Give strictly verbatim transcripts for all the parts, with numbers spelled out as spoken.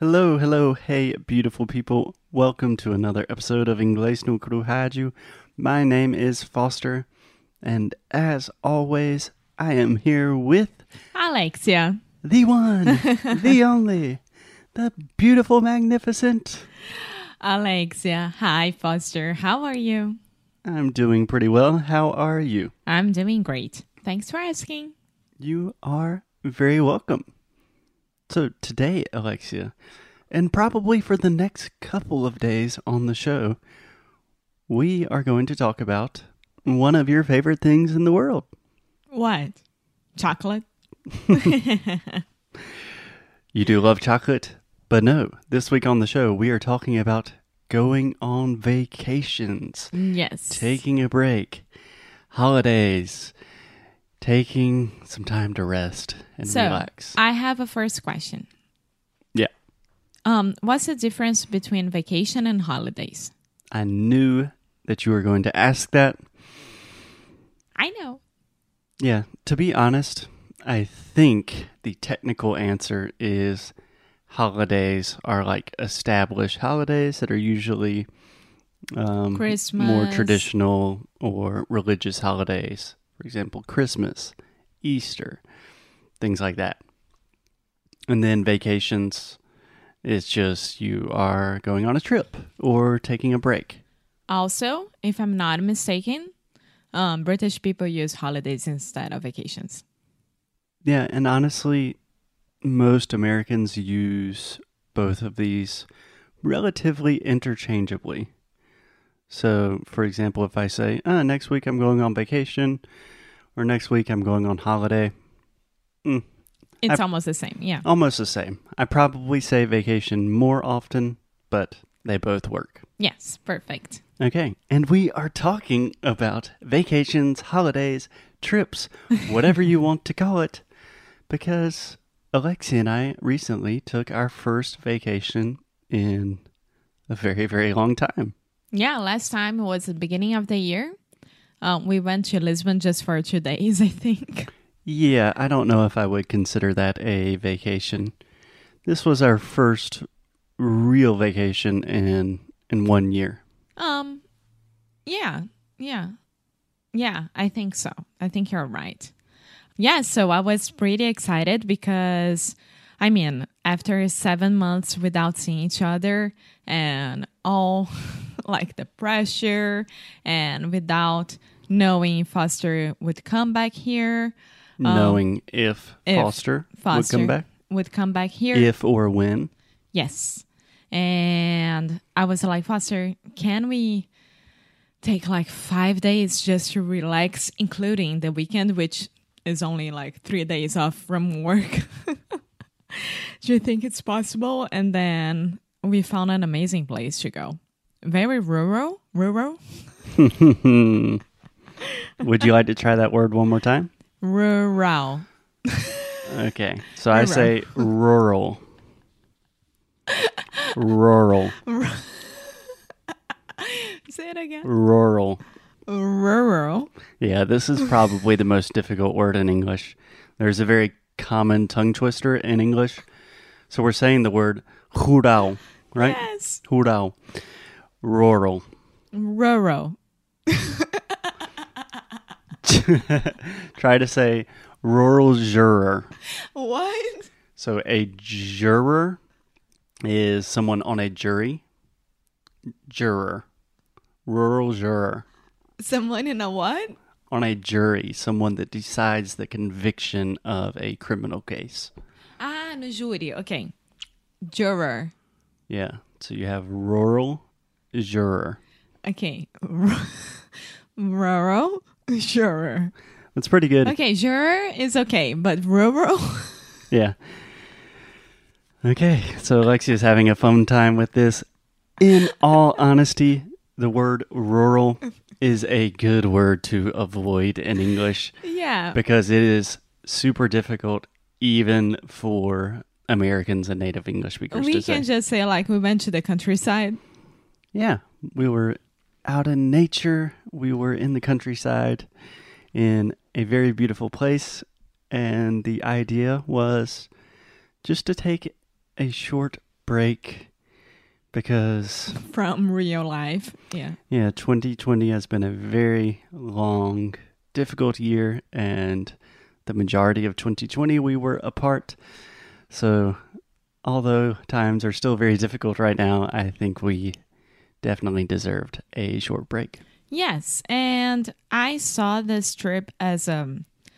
Hello, hello, hey, beautiful people. Welcome to another episode of Inglês no Rádio. My name is Foster, and as always, I am here with Alexia. the one, the only, the beautiful, magnificent. Alexia. Hi, Foster. How are you? I'm doing pretty well. How are you? I'm doing great. Thanks for asking. You are very welcome. So today, Alexia, and probably for the next couple of days on the show, we are going to talk about one of your favorite things in the world. What? Chocolate? You do love chocolate? But no, this week on the show, we are talking about going on vacations, Yes. taking a break, holidays, taking some time to rest and so, relax. I have a first question. Yeah. Um, what's the difference between vacation and holidays? I knew that you were going to ask that. I know. Yeah, to be honest, I think the technical answer is holidays are like established holidays that are usually um, Christmas. more traditional or religious holidays. For example, Christmas, Easter, things like that. And then vacations, it's just you are going on a trip or taking a break. Also, if I'm not mistaken, um, British people use holidays instead of vacations. Yeah, and honestly, most Americans use both of these relatively interchangeably. So, for example, if I say, ah, next week I'm going on vacation, or next week I'm going on holiday, mm, It's I, almost the same, yeah. almost the same. I probably say vacation more often, but they both work. Yes, perfect. Okay, and we are talking about vacations, holidays, trips, whatever you want to call it, because Alexia and I recently took our first vacation in a very, very long time. Yeah, last time was the beginning of the year. Um, we went to Lisbon just for two days, I think. Yeah, I don't know if I would consider that a vacation. This was our first real vacation in in one year. Um, yeah, yeah, yeah, I think so. I think you're right. Yeah, so I was pretty excited because, I mean, after seven months without seeing each other and all like the pressure and without knowing if Foster would come back here. Knowing um, if, if Foster, Foster would come back. Would come back here. If or when. Yes. And I was like, Foster, can we take like five days just to relax, including the weekend, which is only like three days off from work? Do you think it's possible? And then we found an amazing place to go. Very rural. Rural? Would you like to try that word one more time? Rural. Okay, so I say rural. Rural. Say it again. Rural. Rural. Yeah, this is probably the most difficult word in English. There's a very common tongue twister in English. So we're saying the word rural, right? Yes. Rural. Rural. Rural. Try to say rural juror. What? So a juror is someone on a jury. Juror. Rural juror. Someone in a what? On a jury, someone that decides the conviction of a criminal case. Ah, no júri. Okay. Juror. Yeah. So you have rural juror. Okay. Rural juror. That's pretty good. Okay, juror is okay, but rural? Yeah. Okay. So Alexia's having a fun time with this. In all honesty, the word rural is a good word to avoid in English. Yeah. Because it is super difficult even for Americans and native English speakers We to can say. just say like we went to the countryside. Yeah. We were out in nature. We were in the countryside in a very beautiful place. And the idea was just to take a short break because, From real life. Yeah. yeah, twenty twenty has been a very long, difficult year, and the majority of twenty twenty we were apart. So, although times are still very difficult right now, I think we definitely deserved a short break. Yes, and I saw this trip as a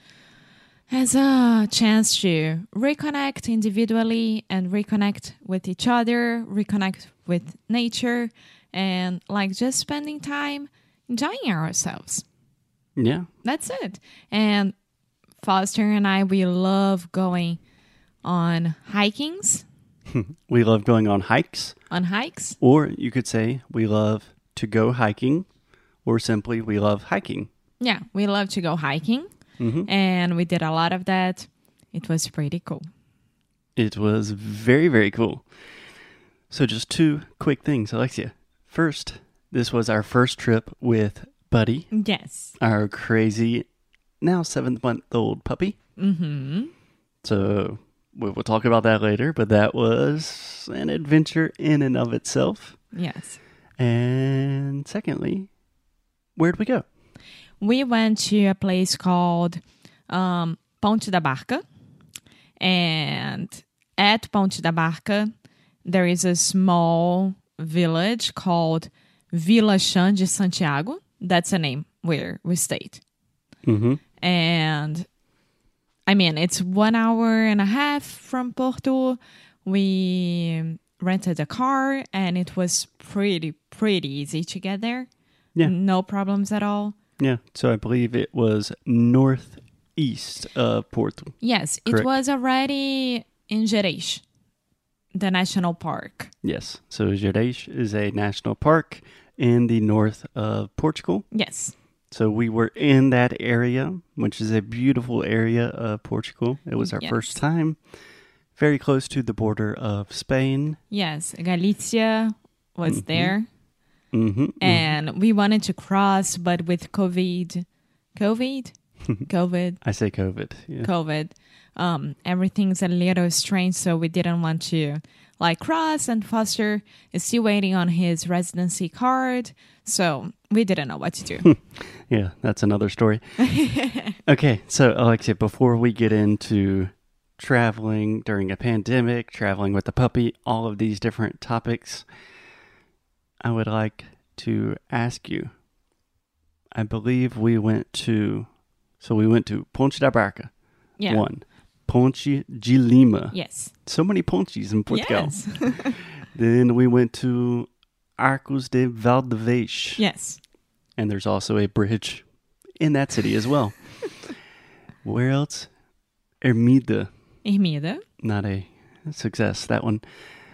as a chance to reconnect individually and reconnect with each other, reconnect with nature, and like just spending time enjoying ourselves. Yeah. That's it. And Foster and I, we love going on hikings, We love going on hikes, on hikes. or you could say we love to go hiking, or simply we love hiking. Yeah, we love to go hiking, hmm and we did a lot of that. It was pretty cool. It was very, very cool. So just two quick things, Alexia. First, this was our first trip with Buddy, Yes. our crazy, now seven-month-old puppy. Mm-hmm. So we will talk about that later, but that was an adventure in and of itself. Yes. And secondly, where'd we go? We went to a place called um, Ponte da Barca. And at Ponte da Barca, there is a small village called Vila Chã de Santiago. That's a name where we stayed. Mm-hmm. And I mean, it's one hour and a half from Porto. We rented a car and it was pretty, pretty easy to get there. Yeah. No problems at all. Yeah, so I believe it was northeast of Porto. Yes, Correct. it was already in Gerês, the national park. Yes, so Gerês is a national park in the north of Portugal. Yes. So we were in that area, which is a beautiful area of Portugal. It was our Yes. first time, very close to the border of Spain. Yes, Galicia was Mhm. there. Mm-hmm. And we wanted to cross, but with COVID, COVID, COVID, I say COVID. Yeah. COVID, um, everything's a little strange, so we didn't want to like cross. And Foster is still waiting on his residency card, so we didn't know what to do. Yeah, that's another story. Okay, so Alexia, before we get into traveling during a pandemic, traveling with the puppy, all of these different topics, I would like to ask you. I believe we went to, so we went to Ponte da Barca, Yeah. one. Ponte de Lima. Yes. So many pontes in Portugal. Yes. Then we went to Arcos de Valdevez. Yes. And there's also a bridge in that city as well. Where else? Ermida. Ermida. Not a success, that one.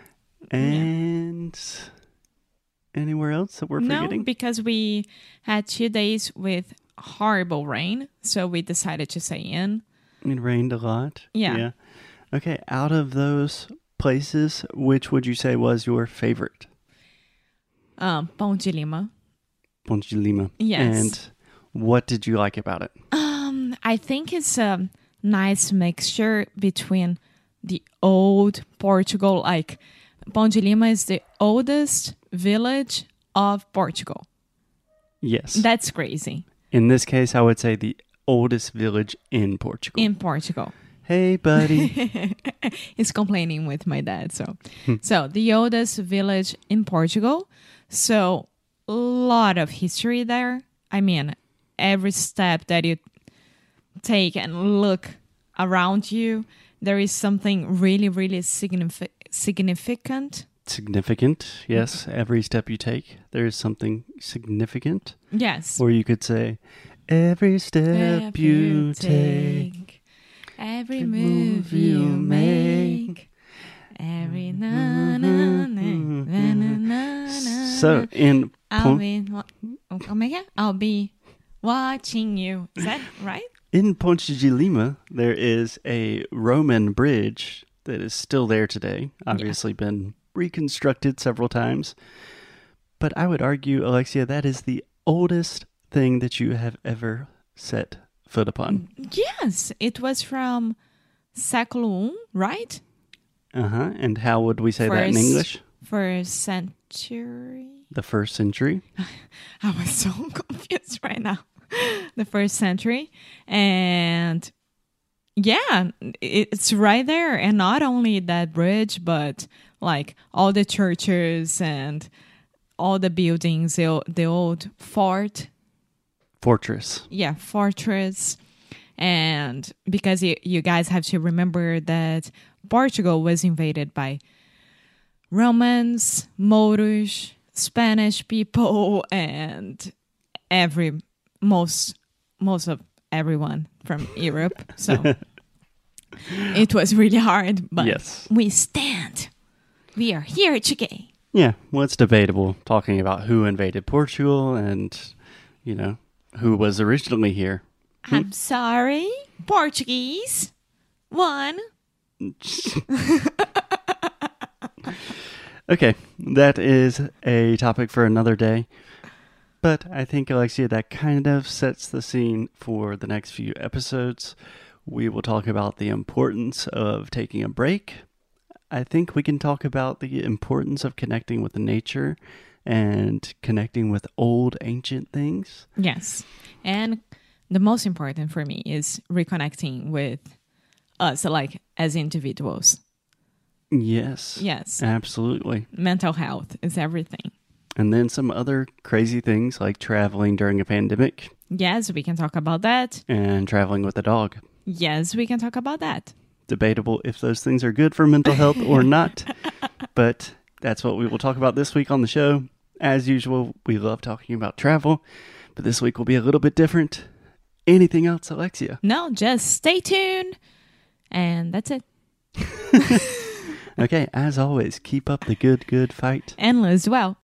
And anywhere else that we're No, forgetting? because we had two days with horrible rain, so we decided to stay in. It rained a lot. Yeah. Okay, out of those places, which would you say was your favorite? Um, Ponte de Lima. Ponte de Lima. Yes. And what did you like about it? Um, I think it's a nice mixture between the old Portugal, like Ponte de Lima is the oldest village of Portugal. Yes. That's crazy. In this case, I would say the oldest village in Portugal. In Portugal. Hey, buddy. He's complaining with my dad. So, so the oldest village in Portugal. So, a lot of history there. I mean, every step that you take and look around you, there is something really, really signifi- significant. Significant, yes. Every step you take, there is something significant. Yes. Or you could say, every step Step you take, every every move you make, every na na na na na na. So, in I'll Pon- be, wa- oh my God, I'll be watching you. Is that right? in Ponte de Lima, there is a Roman bridge that is still there today. Obviously been reconstructed several times. But I would argue, Alexia, that is the oldest thing that you have ever set foot upon. Yes, it was from século um, right? Uh-huh. And how would we say that in First- English? First century. The first century. I was so confused right now. The first century. And yeah, it's right there. And not only that bridge, but like all the churches and all the buildings, the, the old fort. Fortress. Yeah, fortress. And because you, you guys have to remember that Portugal was invaded by Romans, Moors, Spanish people, and every most most of everyone from Europe. So it was really hard, but Yes. we stand. We are here today. Yeah, well, it's debatable talking about who invaded Portugal and, you know, who was originally here. I'm sorry, Portuguese. One. Okay, that is a topic for another day. But I think, Alexia, that kind of sets the scene for the next few episodes. We will talk about the importance of taking a break. I think we can talk about the importance of connecting with nature and connecting with old, ancient things. Yes. And the most important for me is reconnecting with us, like as individuals. Yes. Yes. Absolutely. Mental health is everything. And then some other crazy things like traveling during a pandemic Yes, we can talk about that. and traveling with a dog. Yes, we can talk about that. Debatable if those things are good for mental health or not. But that's what we will talk about this week on the show. As usual, we love talking about travel, but this week will be a little bit different. Anything else, Alexia? No, just stay tuned. And that's it. Okay, as always, keep up the good, good fight. And as well.